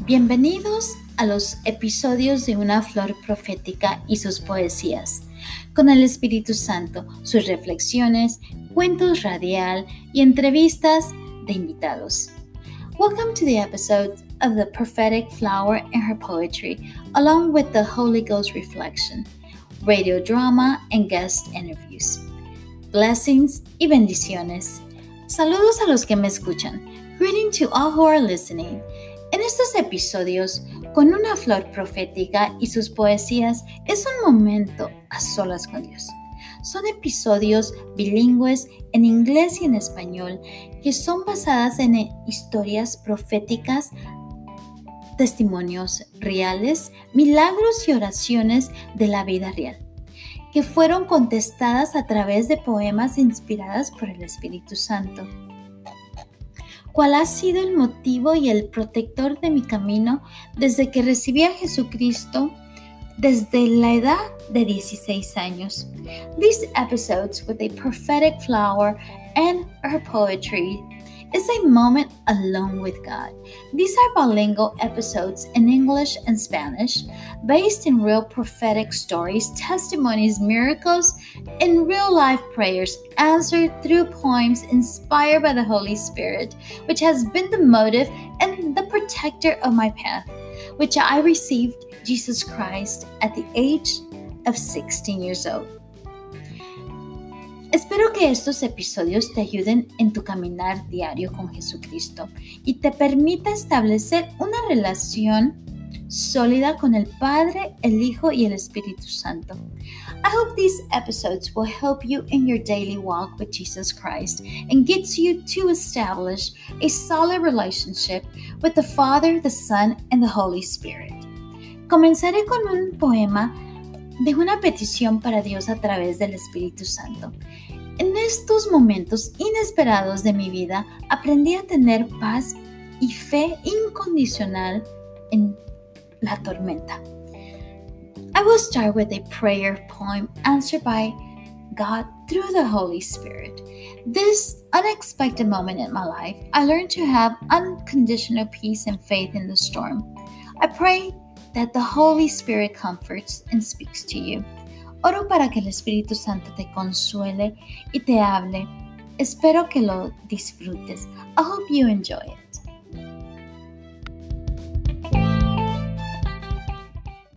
Bienvenidos a los episodios de Una Flor Profética y sus poesías, con el Espíritu Santo, sus reflexiones, cuentos radial y entrevistas de invitados. Welcome to the episode of the Prophetic Flower and her poetry, along with the Holy Ghost reflection, radio drama and guest interviews. Blessings y bendiciones. Saludos a los que me escuchan. Greeting to all who are listening. En estos episodios, con una flor profética y sus poesías, es un momento a solas con Dios. Son episodios bilingües en inglés y en español que son basadas en historias proféticas, testimonios reales, milagros y oraciones de la vida real, que fueron contestadas a través de poemas inspiradas por el Espíritu Santo. ¿Cuál ha sido el motivo y el protector de mi camino desde que recibí a Jesucristo desde la edad de 16 años? These episodes with a prophetic flower and her poetry is a moment alone with God. These are bilingual episodes in English and Spanish, based in real prophetic stories, testimonies, miracles, and real-life prayers answered through poems inspired by the Holy Spirit, which has been the motive and the protector of my path, which I received Jesus Christ at the age of 16 years old. Espero que estos episodios te ayuden en tu caminar diario con Jesucristo y te permita establecer una relación sólida con el Padre, el Hijo y el Espíritu Santo. I hope these episodes will help you in your daily walk with Jesus Christ and gets you to establish a solid relationship with the Father, the Son, and the Holy Spirit. Comenzaré con un poema de una petición para Dios a través del Espíritu Santo. En estos momentos inesperados de mi vida, aprendí a tener paz y fe incondicional en la tormenta. I will start with a prayer poem answered by God through the Holy Spirit. This unexpected moment in my life, I learned to have unconditional peace and faith in the storm. I pray that the Holy Spirit comforts and speaks to you. Oro para que el Espíritu Santo te consuele y te hable. Espero que lo disfrutes. I hope you enjoy it.